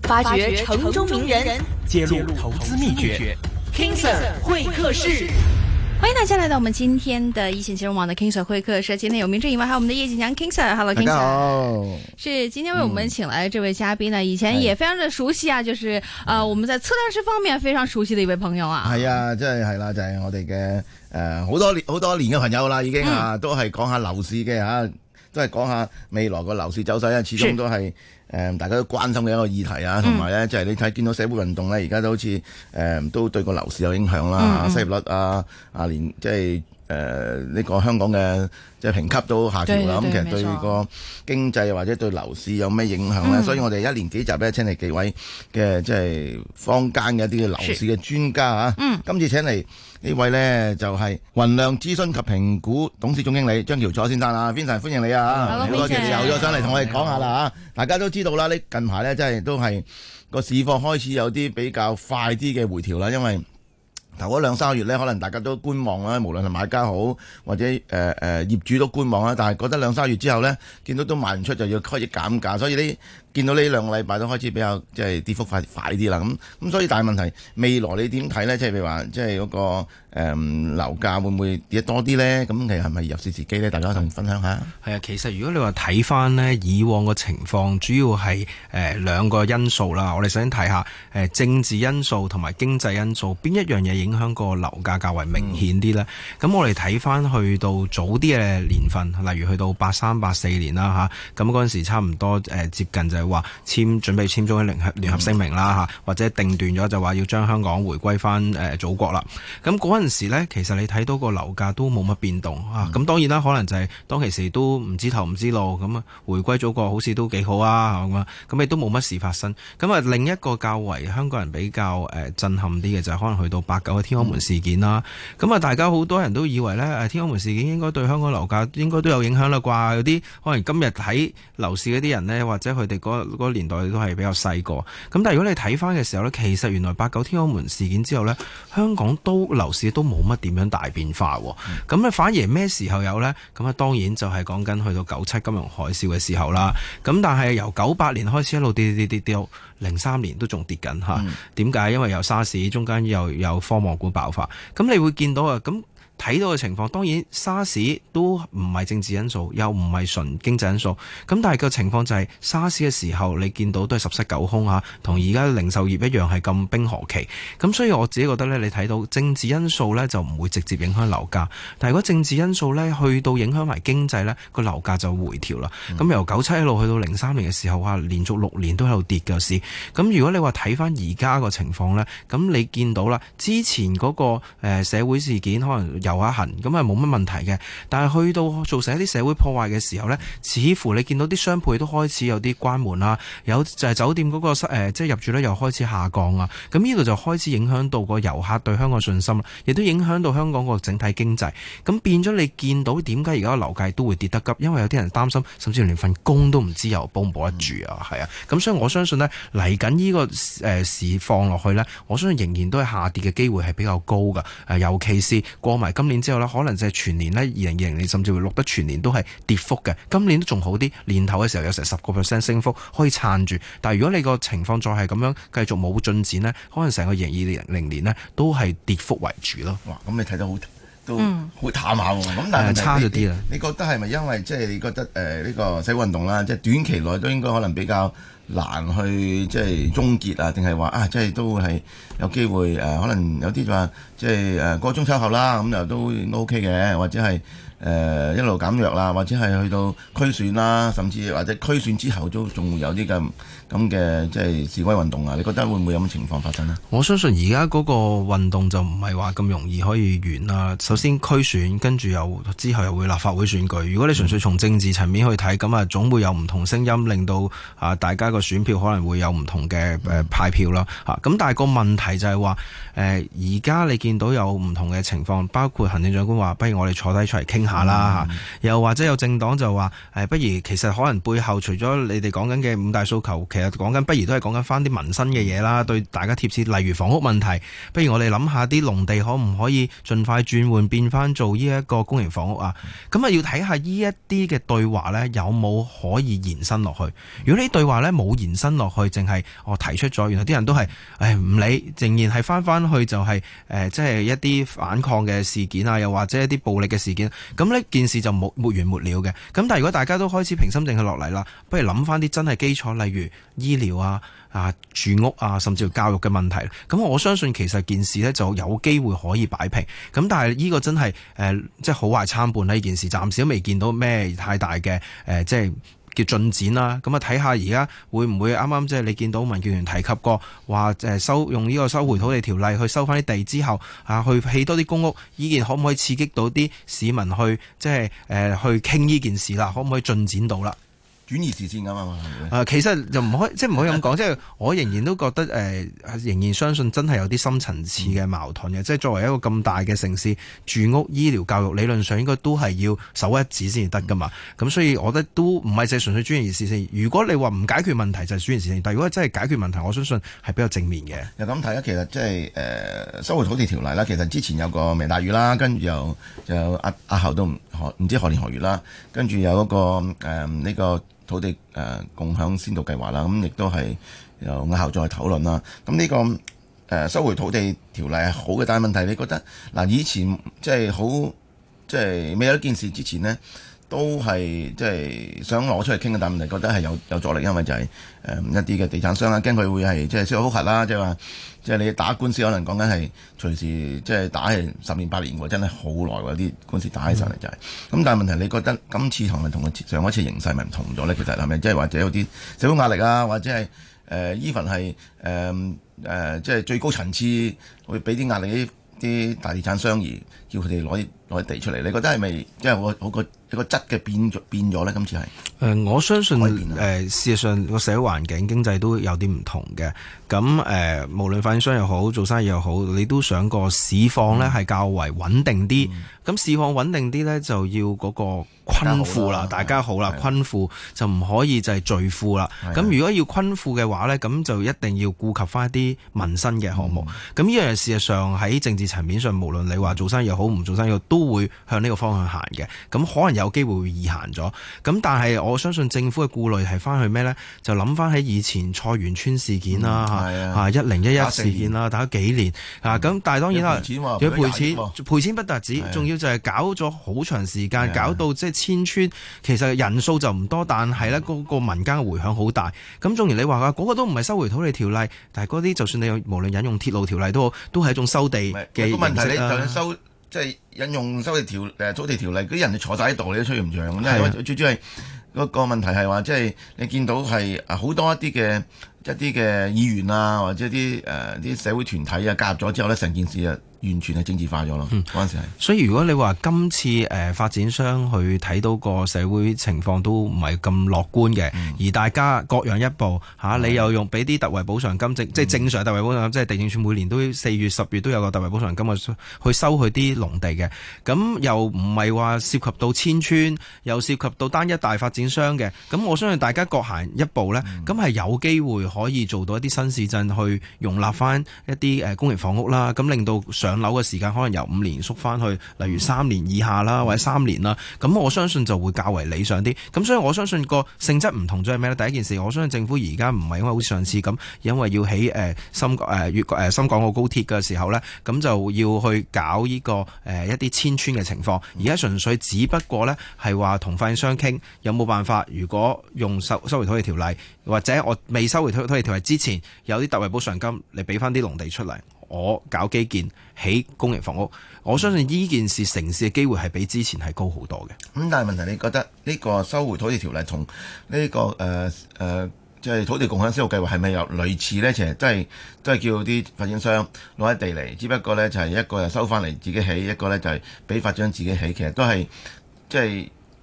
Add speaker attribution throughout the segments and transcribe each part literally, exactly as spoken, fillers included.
Speaker 1: 發掘城中名人，
Speaker 2: 揭露投資秘訣
Speaker 1: King Sir 會客室。
Speaker 3: 歡迎大家來到我們今天的一線金融網的 King Sir 會客室。今天有名正以外，還有我們的葉錦強 King Sir。Hello King Sir。大家好。是今天為我們請來的這位嘉賓呢，嗯、以前也非常的熟悉啊，就是呃我們在測量師方面非常熟悉的一位朋友啊。係啊，
Speaker 4: 即係係啦，就係、是、我哋嘅誒好多年好多年嘅朋友啦，已經啊，嗯、都係講下樓市嘅嚇，都係講下未來個樓市走勢啊，始終都係。誒、嗯，大家都關心嘅一個議題啊，同埋咧，就係、是、你睇見到社會運動咧，而家都好似誒、嗯，都對個樓市有影響啦，嗯、失業率啊，啊，連即係誒呢個香港嘅即係評級都下調啦。咁其實對個經濟或者對樓市有咩影響咧？嗯、所以我哋一連幾集咧，請嚟幾位嘅即係坊間嘅一啲嘅樓市嘅專家啊。嗯，今次請嚟呢位呢，就係、是、雲量諮詢及評估董事總經理張翹楚先生啊 Vincent 歡迎你啊！好多謝你又咗上嚟同我哋講下啦嚇。大家都知道啦，呢近排呢，真係都係個市況開始有啲比較快啲嘅回調啦，因為頭嗰兩三個月呢，可能大家都觀望啦，無論係買家好或者誒誒、呃呃、業主都觀望啦，但係覺得兩三個月之後呢，見到都賣唔出就要開始減價，所以呢。見到呢兩個禮拜都開始比較即係跌幅快快啲啦，咁咁所以大問題未來你點睇呢？即係譬如話，即係嗰個誒、嗯、樓價會唔會跌得多啲呢？咁其實係咪入市時機呢？大家同分享下。
Speaker 2: 係啊，其實如果你話睇翻呢以往個情況，主要係誒、呃、兩個因素啦。我哋首先睇下誒、呃、政治因素同埋經濟因素邊一樣嘢影響個樓價較為明顯啲呢？咁、嗯、我哋睇翻去到早啲嘅年份，例如去到八三八四年啦嚇，咁嗰陣時差唔多誒、呃、接近就係話簽準備簽咗聯合聯合聲明啦嚇，或者定斷咗就話要將香港回歸翻誒祖國啦。咁嗰陣時呢，其實你睇到個樓價都冇乜變動啊。咁當然啦，可能就係當其時都唔知頭唔知路，咁啊回歸祖國好似都幾好啊咁啊，咁亦都冇乜事發生。咁啊另一個較為香港人比較誒震撼啲嘅就係可能去到八九嘅天安門事件啦。咁啊大家好多人都以為呢，誒天安門事件應該對香港樓價應該都有影響啦啩？有啲可能今日睇樓市嗰啲人呢，或者佢哋嗰嗰個年代都係比較細個，咁但係如果你睇翻嘅時候呢，其實原來八九天安門事件之後呢，香港都樓市都冇乜點樣大變化，咁咧、嗯、反而咩時候有呢？咁啊當然就係講緊去到九七金融海嘯嘅時候啦。咁但係由九八年開始一路跌跌跌跌到零三年都仲跌緊嚇。點解、嗯？因為由沙士中間又有科網股爆發，咁你會見到啊咁。睇到嘅情況，當然沙士都唔係政治因素，又唔係純經濟因素。咁但係個情況就係沙士嘅時候，你見到都係十室九空嚇，同而家零售業一樣係咁冰河期。咁所以我自己覺得呢，你睇到政治因素呢就唔會直接影響樓價。但係如果政治因素呢去到影響埋經濟呢，個樓價就回調啦。咁、嗯、由九七一路去到零三年嘅時候啊，連續六年都喺度跌嘅市。咁如果你話睇翻而家個情況呢，咁你見到啦，之前嗰個誒社會事件可能遊下痕咁係冇乜問題嘅，但係去到造成一啲社會破壞嘅時候呢，似乎你見到啲商鋪都開始有啲關門啦，有就係酒店嗰、嗰個誒、呃、即係入住率又開始下降啊，咁呢度就開始影響到個遊客對香港信心，亦都影響到香港個整體經濟，咁變咗你見到點解而家個樓價都會跌得急，因為有啲人擔心，甚至連份工都唔知又保唔保得住啊，係啊，咁所以我相信呢嚟緊呢個誒市況落去呢，我相信仍然都係下跌嘅機會係比較高㗎，誒尤其是過埋今年之後可能就係全年呢，二零二零年甚至會錄得全年都係跌幅嘅。今年都仲好啲，年頭嘅時候有成十個 percent 升幅可以撐住。但係如果你個情況再係咁樣繼續冇進展呢，可能成個二零二零年呢都係跌幅為主咯。
Speaker 4: 哇！咁你睇得好都好淡下喎。咁、嗯、但係
Speaker 2: 差咗啲啦。
Speaker 4: 你覺得係咪因為即係、就是、你覺得誒呢、呃這個社會運動啦，即、就、係、是、短期內都應該可能比較難去即係終結啊？定係話啊，即、就、係、是、都係有機會誒、呃？可能有啲就話即係誒過中秋後啦，咁又都 OK 嘅，或者係誒、呃、一路減弱啦，或者係去到區選啦，甚至或者區選之後都仲會有啲咁咁嘅即係示威運動啊？你覺得會唔會有咁情況發生呢？
Speaker 2: 我相信而家嗰個運動就唔係話咁容易可以完啦。首先區選，跟住又之後又會立法會選舉。如果你純粹從政治層面去睇，咁啊總會有唔同聲音，令到啊大家個選票可能會有唔同嘅誒派票啦。嚇咁、嗯，但係個問題就係話誒而家你見到有唔同嘅情況，包括行政長官話，不如我哋坐低出嚟傾下啦、
Speaker 4: 嗯、
Speaker 2: 又或者有政黨就話誒，不如其實可能背後除咗你哋講緊嘅五大訴求，其實講緊不如都係講緊翻啲民生嘅嘢啦，對大家貼切，例如房屋問題，不如我哋諗下啲農地可唔可以盡快轉換變翻做呢一個公營房屋啊？咁啊要睇下呢一啲嘅對話呢，有冇可以延伸落去。如果呢啲對話呢冇延伸落去，淨係我提出咗，原來啲人都係誒唔理，仍然係翻翻去就係、是、誒、呃、即係一啲反抗嘅事件啊，又或者一啲暴力嘅事件，咁呢件事就冇沒完沒了嘅。咁但係如果大家都開始平心靜氣落嚟啦，不如諗翻啲真係基礎，例如醫療啊、啊住屋啊，甚至乎教育嘅問題。咁我相信其實件事呢就有機會可以擺平。咁但係呢個真係誒、呃、即係好壞參半，呢件事暫時都未見到咩太大嘅誒、呃、即係叫進展啦。咁啊睇下而家會唔會啱啱即係你見到民建聯提及過話誒收用呢個收回土地條例去收翻啲地之後啊，去起多啲公屋，呢件可唔可以刺激到啲市民去即係誒、呃、去傾呢件事啦？可唔可以進展到啦？
Speaker 4: 轉移視線㗎嘛？
Speaker 2: 誒、呃，其實就唔可以，即係唔可以咁講。即係我仍然都覺得誒、呃，仍然相信真係有啲深層次嘅矛盾嘅。嗯、即係作為一個咁大嘅城市，住屋、醫療、教育，理論上應該都係要首一指先至得㗎嘛。咁、嗯、所以我覺得都唔係淨係純粹轉移視線。如果你話唔解決問題就係轉移視線，但係如果真係解決問題，我相信係比較正面嘅。
Speaker 4: 又咁睇啦，其實即係誒收回土地條例啦。其實之前有個明大嶼啦，跟住又又押押後都唔唔知何年何月啦，跟住有嗰、那個誒呢、呃這個。土地誒、呃、共享先導計劃啦，咁、嗯、亦都係由押後再討論啦。咁、嗯、呢、這個誒、呃、收回土地條例係好嘅，但係問題你覺得嗱、呃、以前即係好即係未有一件事之前呢，都係即係想攞出嚟傾嘅，但係問題覺得係有有阻力，因為就係、是、誒、呃、一啲嘅地產商啦，驚佢會係即係司法覆核啦，即係話即係你打官司可能講緊係隨時即係打係十年八年喎，真係好耐喎，啲官司打起上嚟就係、是。咁、嗯、但係問題你覺得今次同埋同上一次形勢咪唔同咗咧？其實係咪即係或者有啲社會壓力啊，或者係誒 even 係誒誒即係最高層次會俾啲壓力啲大地產商而叫佢哋攞啲攞啲地出嚟？你覺得係咪即係我我個一個質嘅變咗變咗咧？今次係誒、
Speaker 2: 呃，我相信誒、呃，事實上個社會環境經濟都有啲唔同嘅。咁誒、呃，無論發展商又好，做生意又好，你都想個市況咧係較為穩定啲。咁、嗯、市況穩定啲咧，就要嗰個昆富啦，大家好啦，昆富就唔可以就係巨富啦。咁如果要昆富嘅話咧，咁就一定要顧及翻一啲民生嘅項目。咁呢樣事實上喺政治層面上，無論你話做生意又好，唔做生意都會向呢個方向行嘅。咁可能有機會會易行咗。咁但係我相信政府嘅顧慮係翻去咩咧？就諗翻喺以前菜園村事件啦。嗯啊！一零一一事件啦，打咗幾年啊！咁但係當然啦，要賠錢，賠錢不特止，仲要就係搞咗好長時間，搞到即係遷村，其實人數就唔多，但係咧嗰個民間嘅迴響好大。咁縱然你話嗰個都唔係收回土地條例，但係嗰啲就算你無論引用鐵路條例都好，都係一種收地嘅形式。個問題你就算收即係引用收地條誒土地條例，嗰啲人就坐晒喺度，你都吹唔脹。因為最主要係嗰個問題係話，即係你見到係好多一啲嘅。一啲嘅議員啊，或者啲誒啲社會團體啊，加入咗之後呢，成件事啊完全係政治化咗咯。嗰陣時係。所以如果你話今次誒、呃、發展商去睇到個社會情況都唔係咁樂觀嘅，嗯、而大家各讓一步嚇、啊，你又用俾啲特惠補償金，即、嗯、即係正常特惠補償金，即係地政署每年都四月十月都有個特惠補償金去去收佢啲農地嘅。咁又唔係話涉及到遷村，又涉及到單一大發展商嘅。咁我相信大家各行一步呢，咁係、嗯、有機會可以做到一啲新市鎮去容納翻一啲誒公營房屋啦，咁令到上樓嘅時間可能由五年縮翻去，例如三年以下啦，或者三年啦。咁我相信就會較為理想啲。咁所以我相信個性質唔同咗係咩呢？第一件事，我相信政府而家唔係因為好似上次咁，因為要起誒深誒粵誒深港澳高鐵嘅時候呢，咁就要去搞呢個誒一啲遷村嘅情況。而家純粹只不過呢係話同發展商傾有冇辦法，如果用收收回土地條例，或者我未收回土土地條例之前有啲特惠補償金，你俾翻啲農地出嚟，我搞基建起公營房屋，我相信呢件事成事嘅機會係比之前係高好多嘅。咁、
Speaker 4: 嗯、但係問題，你覺得呢個收回土地條例同呢、這個誒誒即係土地共享先導計劃係咪有類似呢？其實都係都係叫啲發展商攞一地嚟，只不過呢就係一個就收翻嚟自己起，一個呢就係俾發展商自己起，其實都係即係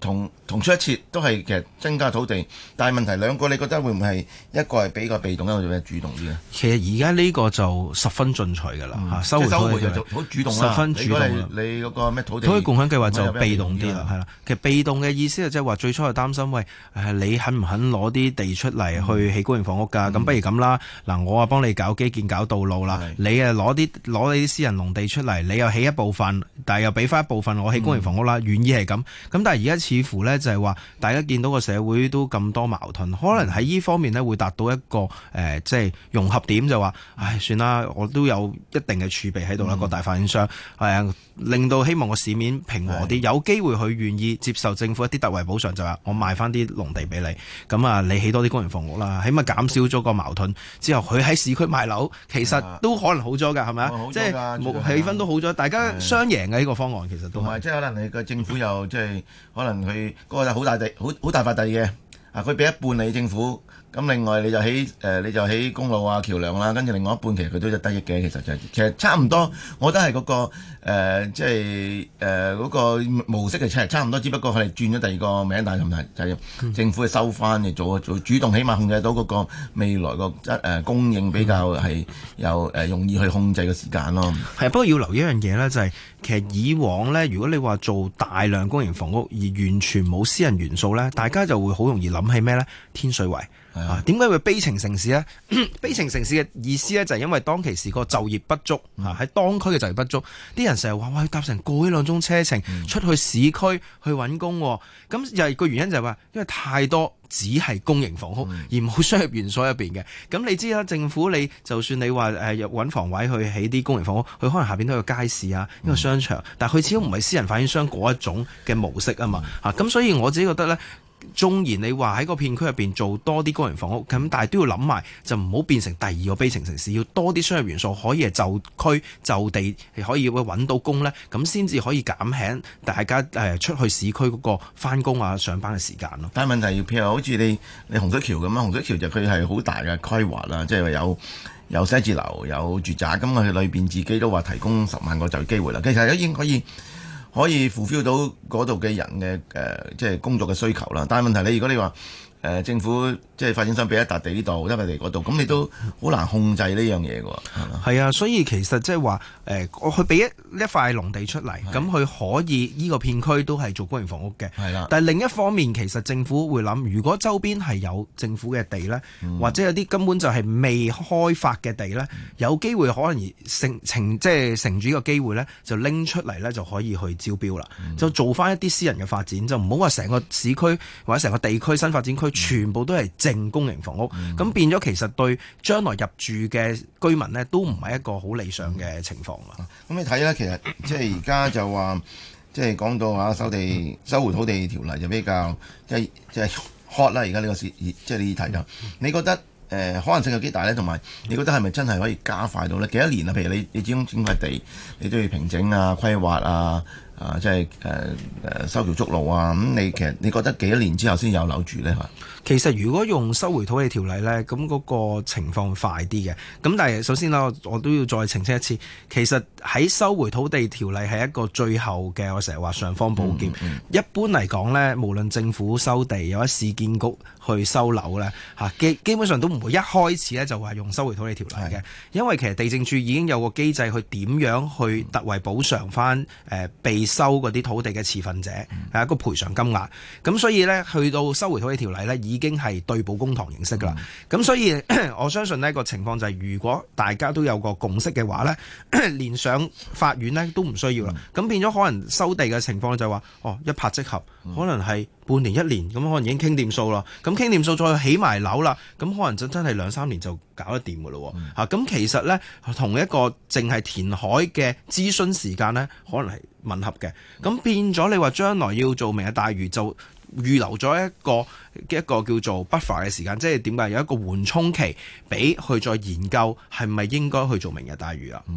Speaker 4: 同同出一轍，都係其實增加土地，但係問題兩個你覺得會唔會係一個係比較被動，一個比較主動啲咧？
Speaker 2: 其實而家呢個就十分進取㗎啦嚇，收回土地就
Speaker 4: 好主動，
Speaker 2: 十分主動啦。
Speaker 4: 你嗰個咩土地？
Speaker 2: 土地共享計劃就被動啲啦，係啦。其實被動嘅意思就即係話最初係擔心，喂誒你肯唔肯攞啲地出嚟去起公營房屋㗎？咁、嗯、不如咁啦，嗱我啊幫你搞基建搞道路啦，你啊攞啲攞你啲私人農地出嚟，你又起一部分，但係又俾翻一部分我起公營房屋啦，願、嗯、意係咁。咁但係而家似乎呢，就係話，大家見到個社會都咁多矛盾，可能喺呢方面呢會達到一個誒、呃、即係融合點，就話唉算啦，我都有一定嘅儲備喺度啦，個、嗯、大發展商係啊，令到希望個市面平和啲，有機會佢願意接受政府一啲特惠補償，就話我賣翻啲農地俾你，咁啊你起多啲公營房屋啦，起碼減少咗個矛盾之後，佢喺市區賣樓，其實都可能好咗㗎，係咪啊？即係氣氛都好咗，大家雙贏嘅呢個方案其實都係。即係可能你個政府又即係可能佢嗰個好大地好好大塊地嘅啊，佢俾一半你政府。咁另外你就起誒、呃、你就起公路啊橋梁啦，跟住另外一半其實佢都有得益嘅，其實就係、其實差唔多，我覺得係嗰、嗰個誒即係誒嗰個模式係差差唔多，只不過佢哋轉咗第二個名，但係問題就係政府係收翻嘅，做做主動，起碼控制到嗰個未來個質誒供應比較係有誒容易去控制嘅時間咯。係，不過要留意一樣嘢咧，就係、係、其實以往咧，如果你話做大量公營房屋而完全冇私人元素咧，大家就會好容易諗起咩咧？天水圍。啊，點解會悲情城市呢？悲情城市嘅意思呢，就係因為當其時個就業不足，喺、嗯、當區嘅就業不足，啲人成日話哇，要搭成個幾兩鐘車程、嗯、出去市區去揾工，咁又係個原因就係話，因為太多只係公營房屋、嗯、而冇商業元素入邊嘅。咁你知啦，政府你就算你話誒揾房位去起啲公營房屋，佢可能下邊都有街市啊，一個商場，嗯、但係佢始終唔係私人發展商嗰一種嘅模式啊嘛。嚇、嗯，咁、啊、所以我自己覺得呢。縱然你話喺個片區入邊做多啲公營房屋，咁但係都要諗埋，就唔好變成第二個悲情城市，要多啲商業元素，可以係就區就地可以會揾到工呢，咁先至可以減輕大家誒出去市區嗰個翻工啊上班嘅時間咯。但係問題，譬如好似你你洪水橋咁樣，洪水橋就佢係好大嘅規劃啦，即係話有有寫字樓有住宅，咁佢裏邊自己都話提供十萬個就業機會啦。其實已經可以。可以 fulfill 到嗰度嘅人嘅誒、呃，即係工作嘅需求啦。但係問題你如果你話誒、呃、政府即係發展商俾一笪地呢度，一笪地嗰度，咁你都好難控制呢樣嘢㗎喎。係啊，所以其實即係話誒，我去俾一一塊農地出嚟，咁佢可以呢個片區都係做公營房屋嘅。係啦。但係另一方面，其實政府會諗，如果周邊係有政府嘅地咧、嗯，或者有啲根本就係未開發嘅地咧、嗯，有機會可能而乘乘即係乘住呢個機會咧，就拎出嚟咧就可以去招標啦、嗯，就做翻一啲私人嘅發展，就唔好話成個市區或者成個地區新發展區、嗯、全部都係淨公營房屋，咁、嗯、變咗其實對將來入住嘅居民呢，都唔係一個好理想嘅情況啦。咁、嗯、你睇咧，其實即係而家就話，即係講到啊收地收回土地條例就比較即係即係 hot 啦。而家呢個事即係呢啲題就，你覺得誒、呃、可能性有幾大咧？同埋你覺得係咪真係可以加快到咧？幾多年啊？譬如你你始終整塊地，你都要平整啊、規劃啊。啊，即係誒誒修橋築路啊！咁、嗯、你其實你覺得幾多年之後先有樓住咧？嚇，其實如果用收回土地條例咧，咁嗰個情況快啲嘅。咁但係首先啦，我都要再澄清一次，其實喺收回土地條例係一個最後嘅，我成日話尚方寶劍。嗯嗯、一般嚟講咧，無論政府收地，有一市建局去收樓咧，嚇基基本上都唔會一開始咧就話用收回土地條例嘅，因為其實地政處已經有個機制去點樣去特惠補償翻誒被收嗰啲土地嘅持份者係、嗯、一個賠償金額，咁所以呢，去到收回土地條例呢，已經係對簿公堂形式噶啦。咁、嗯、所以我相信呢個情況就係、是，如果大家都有個共識嘅話呢，連上法院呢都唔需要啦。咁、嗯、變咗可能收地嘅情況就係話，哦一拍即合，嗯、可能係半年一年咁，可能已經傾掂數啦。咁傾掂數再起埋樓啦，咁可能就真係兩三年就搞得掂噶咯。嚇、嗯，咁、啊、其實呢，同一個淨係填海嘅諮詢時間呢，可能係吻合嘅，咁變咗你話將來要做明日大嶼，就預留咗一個一個叫做 buffer 嘅時間，即係點解有一個緩衝期，俾去再研究係咪應該去做明日大嶼啊？嗯，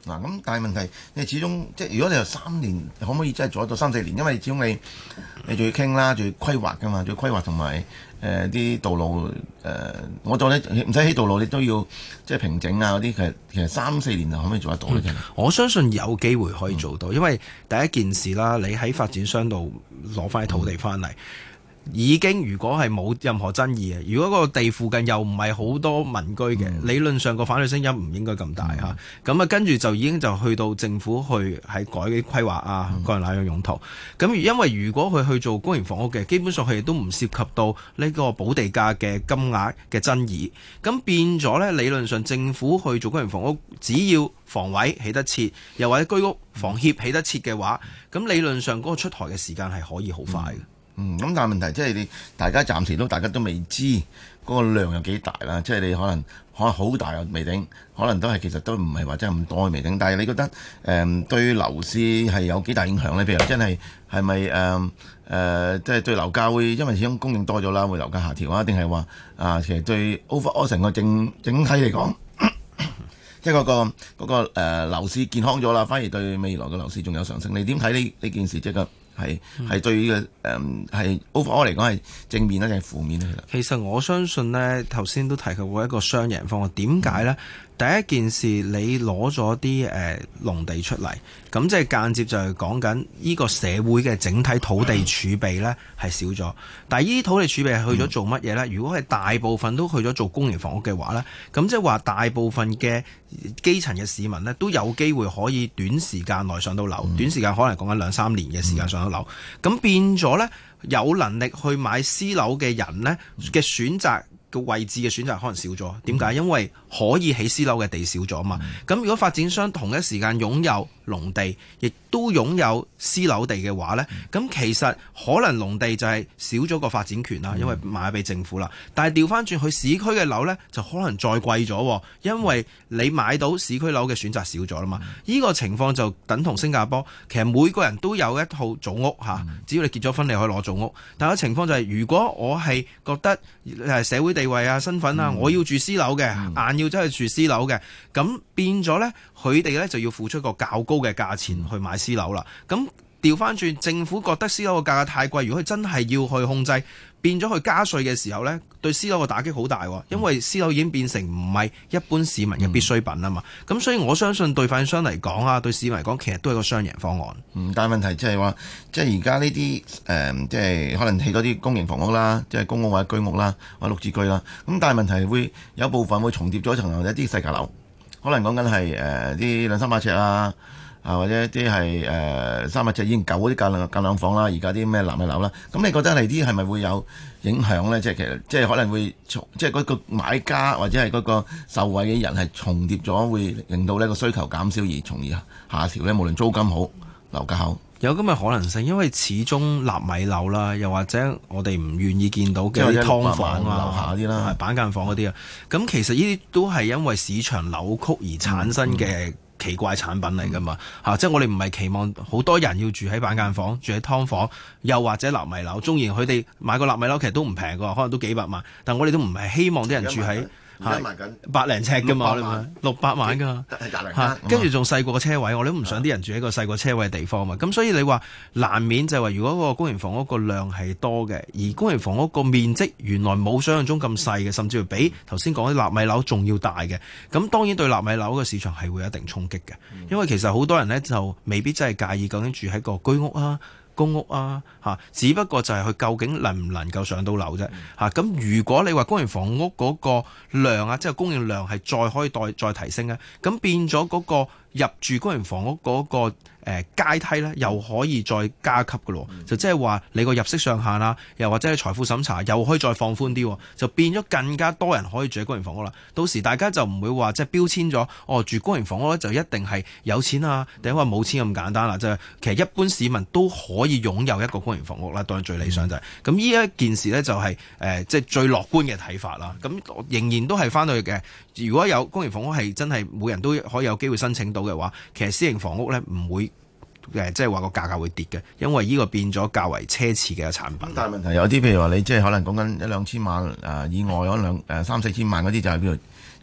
Speaker 4: 嗱咁，但係問題你始終即係如果你有三年，可唔可以真係做得到三四年？因為始終你你仲要傾啦，仲要規劃噶嘛，仲要規劃同埋誒啲道路誒、呃，我當你唔使起道路，你都要即係平整啊嗰啲。其實其實三四年就可唔可以做得到咧？嗯、
Speaker 2: 我相信有機會可以做到，嗯、因為第一件事啦，你喺發展商度攞翻啲土地翻嚟。嗯已經如果係冇任何爭議嘅，如果個地附近又唔係好多民居嘅，嗯、理論上個反對聲音唔應該咁大嚇。咁啊、嗯，跟住就已經就去到政府去喺改啲規劃啊，個人哪樣用途。咁、嗯、因為如果佢去做公營房屋嘅，基本上佢哋都唔涉及到呢個補地價嘅金額嘅爭議。咁變咗呢，理論上政府去做公營房屋，只要房委起得切，又或者居屋房協起得切嘅話，咁理論上嗰個出台嘅時間係可以好快嘅。嗯
Speaker 4: 嗯，咁但係問題即係你大家暫時都大家都未知嗰個量有幾大啦，即係你可能可能好大嘅未定，可能都係其實都唔係話真係咁多嘅未定。但係你覺得誒、呃、對樓市係有幾大影響咧？譬如真係係咪誒誒即係對樓價會因為始終供應多咗啦，會樓價下調啊？定係話啊，其實對 overall 成個整整體嚟講，即係嗰個嗰、嗰個誒、呃、樓市健康咗啦，反而對未來嘅樓市仲有上升。你點睇呢呢件事即係個？係係對嘅誒係 overall 嚟講係正面咧定係負面咧？
Speaker 2: 其實我相信呢，頭先都提及過一個雙贏方案。點解呢？嗯、第一件事你攞咗啲誒農地出嚟，咁即係間接就係講緊呢個社會嘅整體土地儲備呢係少咗。但係呢啲土地儲備係去咗做乜嘢呢？嗯、如果係大部分都去咗做公營房屋嘅話呢，咁即係話大部分嘅基層嘅市民呢都有機會可以短時間內上到樓，嗯、短時間可能講緊兩三年嘅時間上到樓，咁、嗯、變咗呢，有能力去買私樓嘅人呢嘅選擇嘅位置嘅選擇可能少咗。點解？因為可以起私樓嘅地少咗嘛。咁、嗯、如果發展商同一時間擁有農地，亦都擁有私樓地嘅話呢，咁、嗯、其實可能農地就係少咗個發展權啦，因為賣俾政府啦。但係調翻轉去市區嘅樓呢，就可能再貴咗，因為你買到市區樓嘅選擇少咗啦嘛。呢、嗯、個情況就等同新加坡，其實每個人都有一套組屋嚇，只要你結咗婚，你可以攞組屋。但係個情況就係、是，如果我係覺得誒社會地位啊、身份啊，嗯、我要住私樓嘅，硬、嗯、要真係住私樓嘅，咁變咗呢，佢哋呢就要付出個較高嘅價錢去買私樓啦。咁調翻轉，政府覺得私樓嘅價格太貴，如果佢真係要去控制，變咗去加稅嘅時候呢，對私樓嘅打擊好大，因為私樓已經變成唔係一般市民嘅必需品啊嘛。咁、嗯、所以我相信對發展商嚟講啊，對市民嚟講，其實都係個雙贏方案。
Speaker 4: 嗯，但係問題即係話，即係而家呢啲誒，即係可能起多啲公營房屋啦，即係公屋或者居屋啦，或者綠置居啦。咁但係問題會有部分會重疊咗層樓，或者啲細價樓，可能講緊係誒啲兩三百尺啊。啊，或者啲係誒三百尺已經舊嗰啲間兩間兩房啦，而家啲咩納米樓啦，咁你覺得嚟啲係咪會有影響咧？即係其實即係可能會重，即係嗰個買家或者係嗰個受惠嘅人係重疊咗，會令到呢個需求減少而從而下調咧。無論租金好、樓價好，
Speaker 2: 有咁嘅可能性，因為始終納米樓啦，又或者我哋唔願意見到嘅啲劏房啊、樓下啲啦、板間房嗰啲啊，咁其實呢啲都係因為市場扭曲而產生嘅、嗯。嗯奇怪產品嚟㗎嘛嚇、啊，即係我哋唔係期望好多人要住喺板間房、住喺劏房，又或者納米樓。縱然佢哋買個納米樓其實都唔平㗎，可能都幾百萬，但我哋都唔係希望啲人住喺嚇百零尺㗎嘛，六百萬㗎嚇，跟住仲細過個車位，我哋都唔想啲人住喺個細過車位嘅地方嘛。咁所以你話難免就係話，如果個公營房屋個量係多嘅，而公營房屋個面積原來冇想象中咁細嘅，甚至乎比頭先講啲納米樓仲要大嘅，咁當然對納米樓嘅市場係會有一定衝擊嘅，因為其實好多人呢就未必真係介意究竟住喺個居屋啊、公屋啊，嚇，只不過就係佢究竟能唔能夠上到樓啫，嚇。咁如果你話公營房屋嗰個量啊，即係供應量係再可以再再提升咧，咁變咗嗰個入住公營房屋嗰個誒階梯咧，又可以再加級嘅咯，就即係話你個入息上限啊，又或者係財富審查又可以再放寬啲，就變咗更加多人可以住喺公營房屋啦。到時大家就唔會話即係標籤咗，哦住公營房屋咧就一定係有錢啊，定係話冇錢咁簡單啦。即係其實一般市民都可以擁有一個公營房屋啦，當然最理想就係咁。呢一件事咧就係誒即係最樂觀嘅睇法啦。咁仍然都係翻到去嘅。如果有公營房屋係真係每人都可以有機會申請到嘅話，其實私營房屋咧唔會誒即係話個價格會跌嘅，因為呢個變咗較為奢侈嘅產品。但係問題有啲譬如話你即係可能講緊一兩千萬誒以外，可能誒三四千萬嗰啲就係邊度？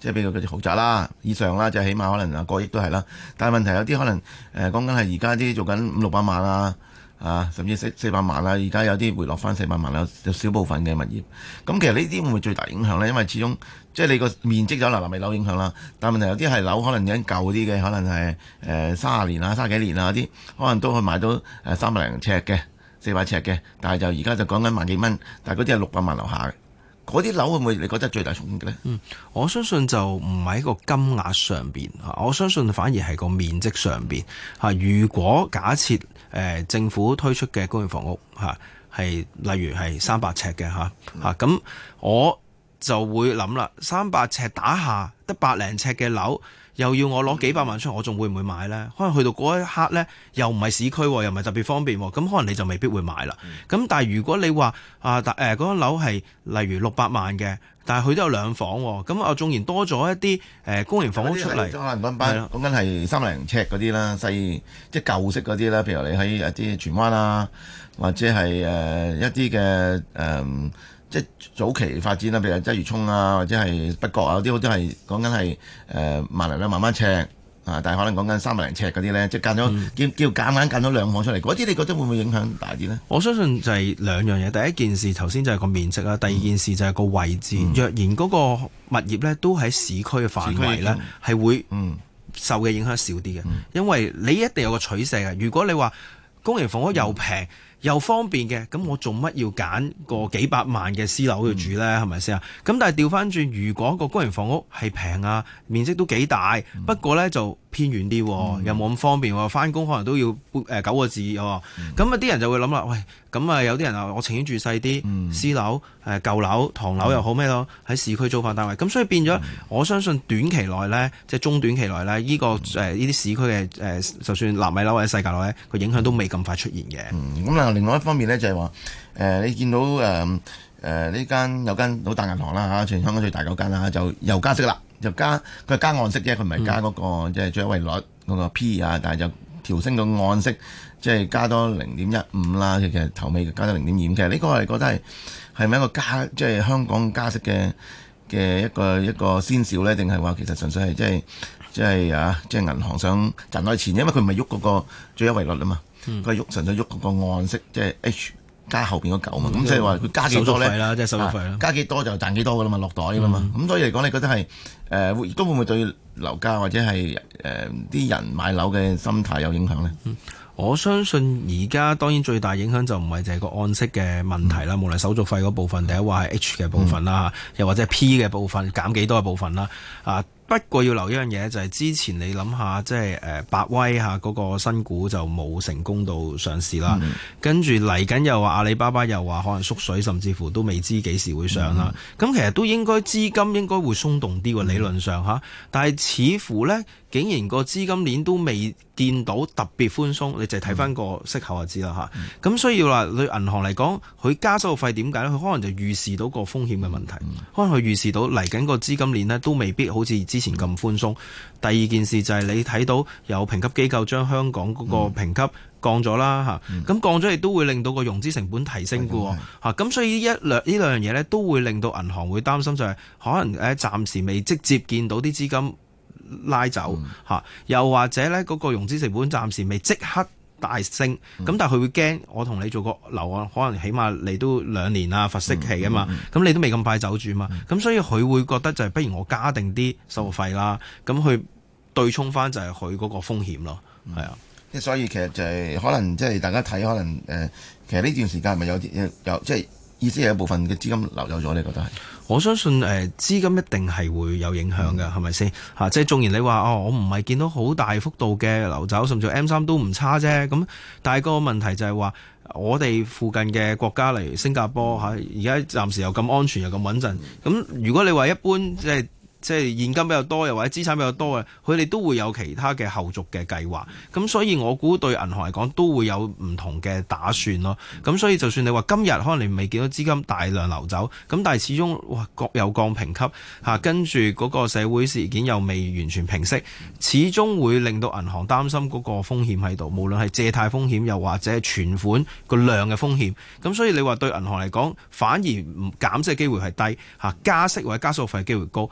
Speaker 4: 即係比如嗰啲豪宅啦以上啦，就起碼可能啊過億都係啦。但係問題有啲可能誒講緊係而家啲做緊五六百萬啊，啊甚至四四百萬啦，而家有啲回落翻四百萬啦，有少部分嘅物業。咁其實呢啲會唔會最大影響咧？因為始終即係你個面積就嗱納米樓影響啦，但係問題有啲係樓可能已經舊啲嘅，可能係誒三十年啊、三十幾年啊啲，可能都可以買到誒三百零尺嘅、四百尺嘅，但係就而家就講緊萬幾蚊，但係嗰啲係六百萬樓下嘅。嗰啲樓會唔會你覺得最大衝擊嘅咧？
Speaker 2: 嗯，我相信就唔喺個金額上邊嚇，我相信反而係個面積上邊嚇。如果假設誒、呃、政府推出嘅公營房屋嚇係例如係三百尺嘅嚇嚇，咁、嗯、我就會諗啦，三百尺打下得百零尺嘅樓，又要我攞幾百萬出嚟，我仲會唔會買呢？可能去到嗰一刻呢，又唔係市區，又唔係特別方便，咁可能你就未必會買啦。咁、嗯、但係如果你話啊，誒嗰間樓係例如六百萬嘅，但係佢都有兩房，咁啊縱然多咗一啲誒公營房屋出嚟，
Speaker 4: 可能講班講緊係三零尺嗰啲啦，細即係舊式嗰啲啦，譬如你喺一啲荃灣啊，或者係誒、呃、一啲嘅誒。呃即係早期發展啦，譬如鰂魚涌啊，或者係北角啊，嗰啲都係講緊係誒萬零兩萬蚊尺啊，但係可能講緊三百零尺嗰啲咧，即係間咗、嗯、叫叫夾硬間咗兩房出嚟，嗰啲你覺得會唔會影響大啲咧？我相信就係兩樣嘢，第一件事頭先就係個面積啦，第二件事就係個位置。嗯、若然嗰個物業咧都喺市區嘅範圍咧，係會受嘅影響少啲嘅，嗯、因為你一定有個取捨嘅。如果你話公營房屋又平，嗯又方便嘅，咁我做乜要揀個幾百萬嘅私樓去住呢？係咪先啊？咁但係調翻轉，如果個公營房屋係平啊，面積都幾大，嗯、不過呢就偏遠啲，嗯、又冇咁方便喎，翻工可能都要誒九個字喎。咁啊啲人就會諗啦，喂，咁啊有啲人啊，我情願住細啲、嗯、私樓、誒舊樓、唐樓又好咩咯，喺市區租翻單位。咁所以變咗，嗯、我相信短期內呢，即係中短期內呢，呢、呢個誒呢啲市區嘅誒，就算納米樓或者世界樓呢，個影響都未咁快出現嘅。咁、嗯另外一方面咧就係話，誒、呃、你見到誒誒呢間有間好大銀行啦嚇，全香港最大嗰間啦，就又加息啦，就加佢係加按息啫，佢唔係加嗰、那個即係最優惠率嗰個 P 啊，但係就調升個按息，即係加多零點一五啦，其實頭尾加多零點二五，其實呢個我哋覺得係係咪一個加即係香港加息嘅嘅一個一個先兆咧，定係話其實純粹係即係即係啊即係銀行想賺多啲錢，因為佢唔係喐嗰個最優惠率啊嘛。佢係喐純粹喐嗰個按息，即係 H 加後邊嗰嚿嘛，咁即係話佢加幾多咧？手續費啦，即係手續費啦。加幾多就賺幾多噶啦嘛，落袋噶啦嘛。咁、嗯、所以嚟講，你覺得係誒會都會唔會對樓價或者係誒啲人買樓嘅心態有影響咧？嗯我相信而家當然最大影響就唔係就係個按息嘅問題啦，嗯、無論手續費嗰部分，第一話係 H 嘅部分啦，嗯、又或者係 P 嘅部分減幾多嘅部分啦。啊，不過要留意一樣嘢就係之前你諗下，即係誒百威嚇嗰個新股就冇成功到上市啦，嗯、跟住嚟緊又話阿里巴巴又話可能縮水，甚至乎都未知幾時會上啦。咁、嗯、其實都應該資金應該會鬆動啲喎，理論上嚇，但係似乎呢。竟然個資金鏈都未見到特別寬鬆，你就睇翻個息口就知啦嚇。咁、嗯、所以話對銀行嚟講，佢加手續費點解咧？佢可能就預示到個風險嘅問題，嗯、可能佢預示到嚟緊個資金鏈呢都未必好似之前咁寬鬆。第二件事就係你睇到有評級機構將香港嗰個評級降咗啦嚇，咁、嗯、降咗亦都會令到個融資成本提升嘅喎嚇。咁、嗯、所以一兩呢兩樣嘢呢都會令到銀行會擔心，就係可能誒暫時未直接見到啲資金拉走嚇，嗯、又或者咧嗰個融資成本暫時未即刻大升，咁、嗯、但係佢會驚我同你做個樓啊，可能起碼你都兩年啊，罰息期啊嘛，咁、嗯嗯、你都未咁快走住嘛，咁、嗯、所以佢會覺得就係不如我加定啲手續費啦，咁去對沖翻就係佢嗰個風險咯，係、嗯、啊，即係所以其實就係可能即係大家睇可能誒、呃，其實呢段時間係咪有啲有即係意思係有部分嘅資金流走咗，你覺得係？我相信誒、呃、資金一定係會有影響嘅，係咪先嚇？即係縱然你話哦，我唔係見到好大幅度嘅流走，甚至 M 三都唔差啫。咁但係個問題就係話，我哋附近嘅國家例如新加坡嚇，而家暫時又咁安全又咁穩陣。咁如果你話一般即係即係現金比較多，又或者資產比較多嘅，佢哋都會有其他嘅後續嘅計劃。咁所以我估對銀行嚟講都會有唔同嘅打算咯。咁所以就算你話今日可能你未見到資金大量流走，咁但係始終哇各有降評級嚇，跟住嗰個社會事件又未完全平息，始終會令到銀行擔心嗰個風險喺度，無論係借貸風險又或者係存款個量嘅風險。咁所以你話對銀行嚟講，反而唔減息嘅機會係低嚇，加息或者加手續費機會高。咁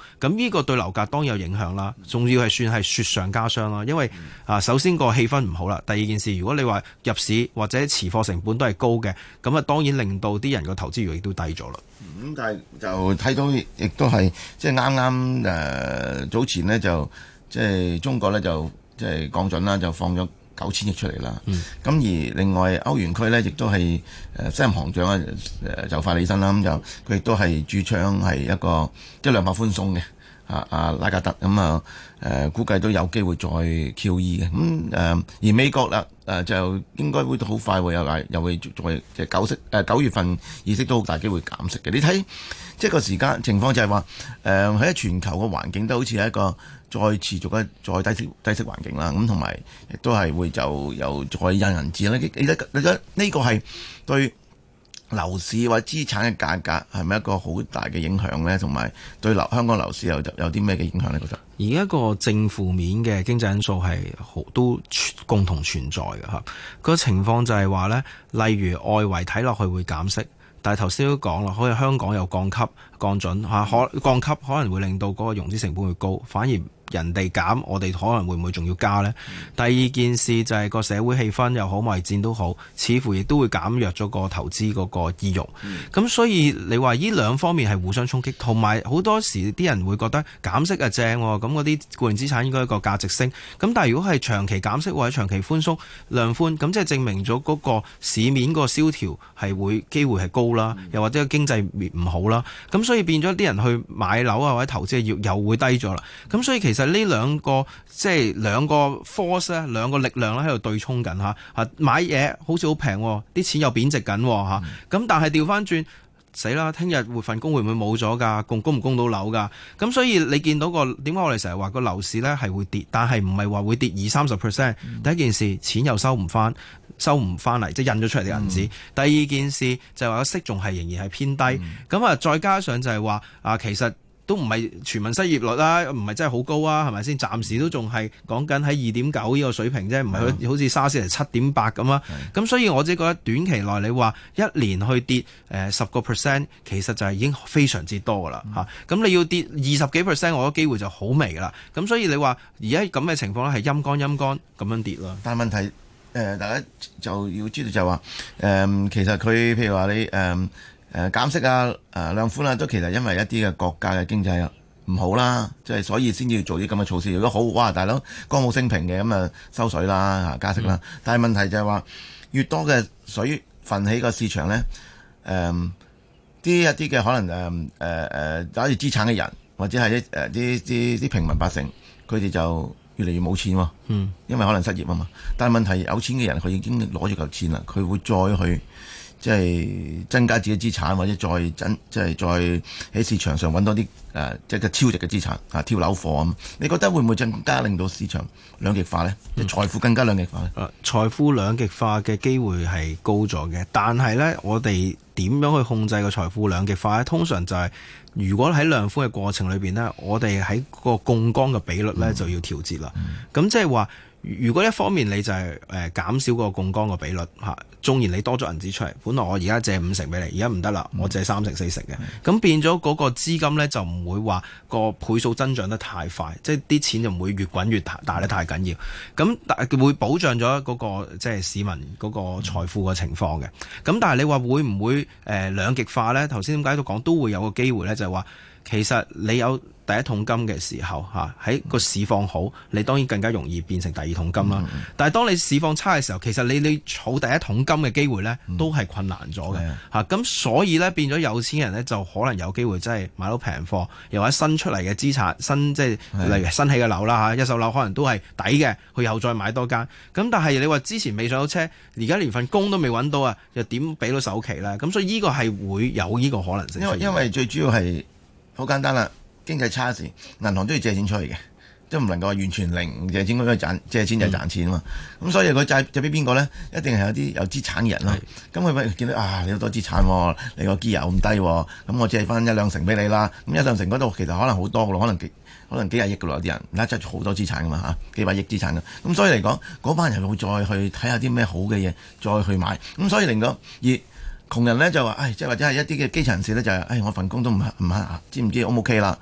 Speaker 2: 呢個對樓價當然有影響啦，仲要係算係雪上加霜啦。因為啊，首先個氣氛唔好啦，第二件事，如果你話入市或者持貨成本都係高嘅，咁啊當然令到啲人個投資慾亦都低咗啦。
Speaker 4: 咁、嗯、但係就睇到亦都係即係啱啱誒早前呢，就即係中國咧就即係降準啦，就放咗九千億出嚟啦。咁、嗯、而另外歐元區呢，亦都係誒新任行長啊誒就快起身啦，咁就佢亦都係主張係一個即係量化寬鬆嘅。啊啊拉加德咁啊誒估計都有機會再 Q E 嘅。咁、嗯、誒、呃、而美國啦誒、呃、就應該會好快會有又會再即係九息誒九月份議息都好大機會減息嘅。你睇即係個時間情況就係話誒喺全球嘅環境都好似係一個再持續嘅再低息低息環境啦。咁同埋亦都係會就又再印銀紙啦。你你覺得你覺得呢個係對樓市或者資產嘅價格係咪一個好大嘅影響呢？同埋對樓香港樓市有有啲咩嘅影響呢？覺得
Speaker 2: 而家個正負面嘅經濟因素係好都共同存在嘅嚇。個情況就係話呢，例如外圍睇落去會減息，但係頭先都講啦，好似香港有降級降準嚇，可降級可能會令到嗰個融資成本會高，反而人哋減，我哋可能會唔會仲要加呢？嗯、第二件事就係個社會氣氛又好，貿易戰都好，似乎亦都會減弱咗個投資嗰個意欲。咁、嗯、所以你話呢兩方面係互相衝擊，同埋好多時啲人會覺得減息啊正，咁嗰啲固定資產應該一個價值升。咁但係如果係長期減息或者長期寬鬆量寬，咁即係證明咗嗰個市面個蕭條係會機會係高啦，又或者經濟唔好啦。咁所以變咗啲人去買樓啊或者投資嘅意欲又會低咗啦。咁所以其實呢兩個即係兩個 force 咧，兩個力量咧喺度對沖緊嚇嚇，買嘢好似好平，啲錢又貶值緊嚇，咁、嗯、但係調翻轉死啦，聽日會份工會唔會冇咗㗎？供供唔供到樓㗎？咁所以你見到個點解我哋成日話個樓市咧係會跌，但係唔係話會跌二三十 percent。第一件事錢又收唔翻，收唔翻嚟，即係印咗出嚟嘅銀紙。嗯、第二件事就係話個息仲係仍然係偏低，咁啊、嗯、再加上就係話啊其實。都唔係全民失業率啦，唔係真係好高啊，係咪先？暫時都仲係講緊喺二點九呢個水平啫，唔係好似沙士嚟七點八咁啊。咁的所以我自己覺得短期內你話一年去跌誒十個 percent，其實就係已經非常之多噶啦嚇。咁、嗯、你要跌二十幾 percent，我覺得機會就好微噶啦。咁所以你話而家咁嘅情況咧係陰乾陰乾咁樣跌咯。
Speaker 4: 但係問題誒、呃，大家就要知道就係話誒，其實佢譬如話你誒。呃誒、呃、減息啊、誒、呃、量寬啊，都其實因為一啲嘅國家嘅經濟唔好啦，即係所以先要做啲咁嘅措施。如果好，哇，大佬歌舞升平嘅咁啊收水啦、加息啦。嗯、但係問題就係話，越多嘅水分起個市場咧，誒、呃、啲一啲嘅可能誒誒誒揸住資產嘅人，或者係啲誒啲啲啲平民百姓，佢哋就越嚟越冇錢喎。嗯，因為可能失業啊嘛。但係問題有錢嘅人，佢已經攞咗嚿錢啦，佢會再去。即係增加自己資產，或者再增，即係再喺市場上揾多啲誒、呃，即係個超值嘅資產啊，挑樓貨咁。你覺得會唔會更加令到市場兩極化呢？即係、嗯、財富更加兩極化呢？誒、呃，財富兩極化嘅機會係高咗嘅，但係呢，我哋點樣去控制個財富兩極化呢？通常就係、是、如果喺量寬嘅過程裏邊呢，我哋喺個槓桿嘅比率呢、嗯、就要調節啦。咁即係話。如果一方面你就係誒減少個槓桿個比率嚇，縱然你多咗銀紙出嚟，本來我而家借五成俾你，而家唔得啦，我借三成四成嘅，咁、嗯、變咗嗰個資金咧就唔會話個倍數增長得太快，即係啲錢就唔會越滾越大得太緊要，咁但會保障咗嗰個即係市民嗰個財富嘅情況嘅。咁但係你話會唔會誒兩極化咧？頭先點解都講都會有個機會咧，就係話其實你有第一桶金嘅時候嚇，喺個市況好，你當然更加容易變成第二桶金啦。嗯、但係當你市況差嘅時候，其實你你儲第一桶金嘅機會咧，都係困難咗嘅嚇。咁、嗯、所以咧變咗有錢人咧，就可能有機會真係買到平貨，又或者新出嚟嘅資產，新即係例如新起嘅樓啦嚇，一手樓可能都係抵嘅，佢又再買多間。咁但係你話之前未上到車，而家連份工都未揾到啊，又點俾到首期咧？咁所以呢個係會有呢個可能性。因為因為最主要係好簡單啦。經濟差時，銀行都要借錢出去嘅，即係唔能夠話完全零借錢，佢賺借錢就賺錢啊嘛。咁、嗯、所以佢借借俾邊個咧？一定係有啲有資產嘅人咯。咁佢咪見到啊，你好多資產、哦，你個 gear 咁低，咁我借翻一兩成俾你啦。咁一兩成嗰度其實可能好多嘅咯，可能幾可能幾廿億嘅咯，有啲人而家執住好多資產噶嘛嚇，幾百億資產嘅。咁所以嚟講，嗰班人會再去睇下啲咩好嘅嘢，再去買。咁所以令到而窮人咧就話，唉，即係或者係一啲嘅基層人士咧就係、是，唉，我份工都唔唔知唔知 O 唔 OK 啦？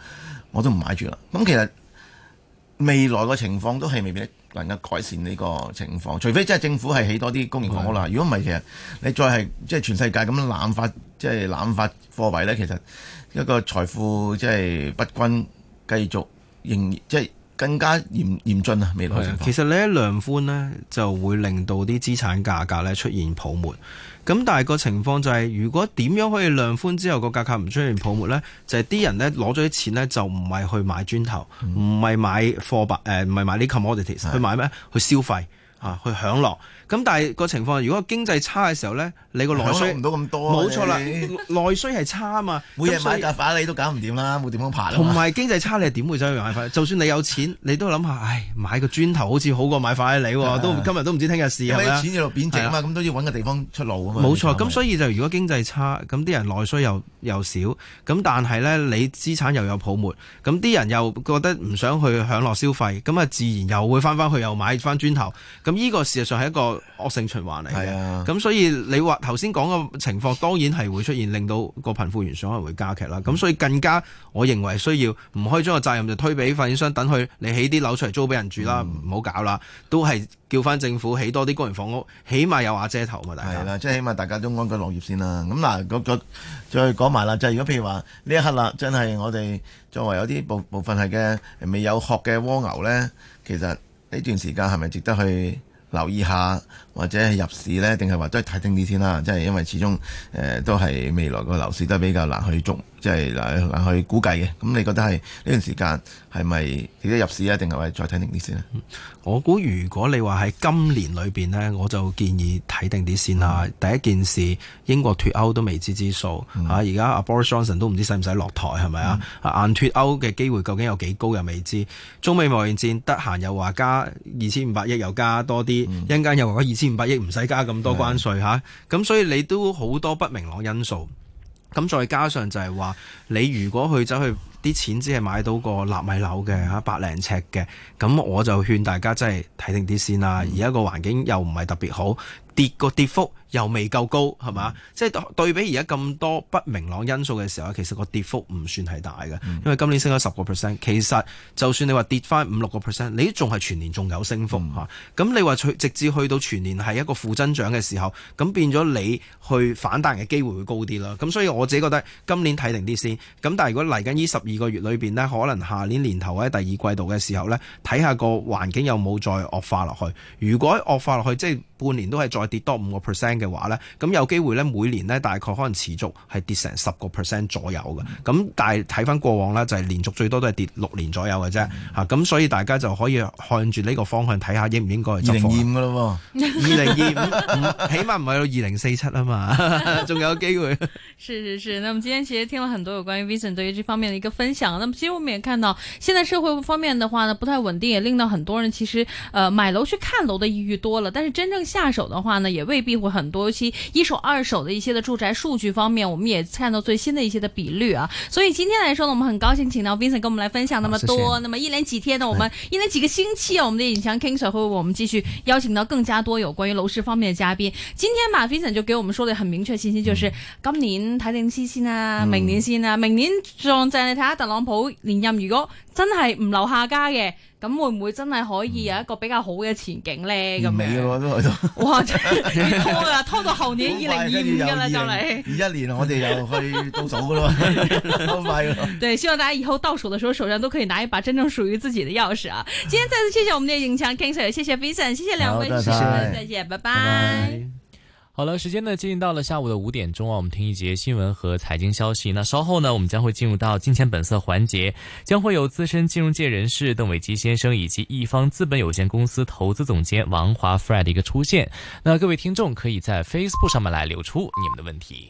Speaker 4: 我都唔買住啦。咁其實未來個情況都係未必能夠改善呢個情況，除非即係政府係起多啲公營房屋啦。如果唔係，其實你再係即係全世界咁樣濫發，即係濫發貨幣咧，其實一個財富即係不均，繼續仍即係更加嚴嚴峻啊！未來情況
Speaker 2: 其實你一量寬呢，就會令到啲資產價格咧出現泡沫。咁但係個情況就係、是，如果點樣可以量寬之後個價格唔出現泡沫呢？就係、是、啲人呢攞咗啲錢呢，就唔係去買磚頭，唔係、嗯、買貨幣，誒唔係買啲 commodities，的去買咩？去消費啊，去享樂。咁但係個情況，如果經濟差嘅時候呢，你個內需
Speaker 4: 唔到咁多，
Speaker 2: 冇錯啦，內需係差啊嘛。
Speaker 4: 每日買架法拉利都搞唔掂啦，冇點樣爬。
Speaker 2: 同埋經濟差，你係點會走去買法拉利？就算你有錢，你都諗下，唉，買個磚頭好似好過買法拉利喎。都今日都唔知聽日事係咪啊？錢喺度貶值啊嘛，咁都要揾個地方出路啊嘛。冇錯，咁所以就如果經濟差，咁啲人內需又又少，咁但係呢，你資產又有泡沫，咁啲人又覺得唔想去享樂消費，咁啊自然又會翻翻去又買翻磚頭。咁呢個事實上係一個惡性循環。係啊，咁所以你話頭先講嘅情況，當然係會出現，令到個貧富懸殊可能會加劇啦。咁、嗯、所以更加，我認為需要唔可以將個責任就推俾發展商，等佢你起啲樓出嚟租俾人住啦，唔好、嗯、搞啦，都係叫翻政府起多啲公營房屋，起碼有瓦遮頭嘛。大家係啦，即係起碼大家都安居樂業先啦。咁嗱，嗰個再講埋啦，就係、是、如果譬如話呢一刻啦，真係我哋作為有啲部部分係嘅未有殼嘅蝸牛咧，其實呢段時間係咪值得去留意下或者係入市呢？定係話都係睇定啲先啦。即係因為始終誒、呃、都係未來個樓市都係比較難去捉，即係難難去估計嘅。咁你覺得係呢段時間係咪值得入市啊？定係話再睇定啲先咧？我估如果你話喺今年裏邊呢，我就建議睇定啲先啦。嗯、第一件事，英國脫歐都未知之數嚇，而家阿 Boris Johnson 都唔知使唔使落台係咪啊？硬脫歐嘅機會究竟有幾高又未知。中美貿易戰得閒又話加二千五百億，又加多啲。一陣間又話二千五百億唔使加咁多關稅嚇，咁的所以你都好多不明朗因素。咁再加上就係話，你如果去走去啲錢只係買到個納米樓嘅嚇，百零尺嘅，咁我就勸大家真係睇定啲先啦。而家個環境又唔係特別好，跌個跌幅又未夠高，係嘛？即係對比而家咁多不明朗因素嘅時候，其實個跌幅唔算係大嘅，因為今年升咗十個 percent。其實就算你話跌翻五六個 percent，你仲係全年仲有升幅嚇。咁、嗯、你話直至去到全年係一個負增長嘅時候，咁變咗你去反彈嘅機會會高啲啦。咁所以我自己覺得今年睇定啲先。咁但係如果嚟緊呢十二個月裏邊呢，可能下年年頭或者第二季度嘅時候呢，睇下個環境有冇再惡化落去。如果惡化落去，即係半年都係再跌多五個 percent 嘅話呢，咁有機會呢，每年呢大概可能持續係跌成十個 percent 左右嘅。咁、嗯、但係睇翻過往呢，就係、是、連續最多都係跌六年左右嘅啫。嚇、嗯，咁、啊、所以大家就可以看住呢個方向睇下應唔應該去執貨。二零二五嘅咯喎，二零二五起碼唔係到二零四七啊嘛，仲有機會。
Speaker 3: 是是是，那麼今天其實聽了很多有關於 Vincent 對於這方面的一個分享。那麼其實我們也看到，現在社會方面的話呢，不太穩定，也令到很多人其實呃買樓去看樓的意欲多了，但是真正下手的話呢，也未必會很多。尤其一手、二手的一些的住宅數據方面，我們也看到最新的一些的比率啊。所以今天來說呢，我們很高興請到 Vincent 跟我們來分享那麼多。謝謝。那麼一連幾天呢，我們一連幾個星期啊，我們的葉景強 King Sir 會為我們繼續邀請到更加多有關於樓市方面的嘉賓。今天嘛 Vincent 就給我們說的很明確信息，就是、嗯、今年睇定啲先啊，明年先啊，明年仲就係你睇下特朗普連任，如果真係唔留下家嘅。咁會唔會真係可以有一個比較好嘅前景咧？咁
Speaker 4: 尾咯都喺度。
Speaker 3: 哇！真係拖啦，拖到後年二零二五㗎啦，就嚟。
Speaker 4: 二一年我哋又去倒數㗎咯，好快㗎。
Speaker 3: 對，希望大家以後倒數的時候手上都可以拿一把真正屬於自己的鑰匙啊！今天再次謝謝我們的葉景強 King Sir，謝謝 Vincent，謝謝兩位主持人，再見，拜拜。拜拜。
Speaker 5: 好了，時間呢接近到了下午的五點鐘啊，我們聽一節新聞和財經消息。那稍後呢，我們將會進入到金錢本色環節，將會有資深金融界人士鄧偉基先生以及易方資本有限公司投資總監王華 Fred 的一個出現。那各位聽眾可以在 Facebook 上面來留出你們的問題。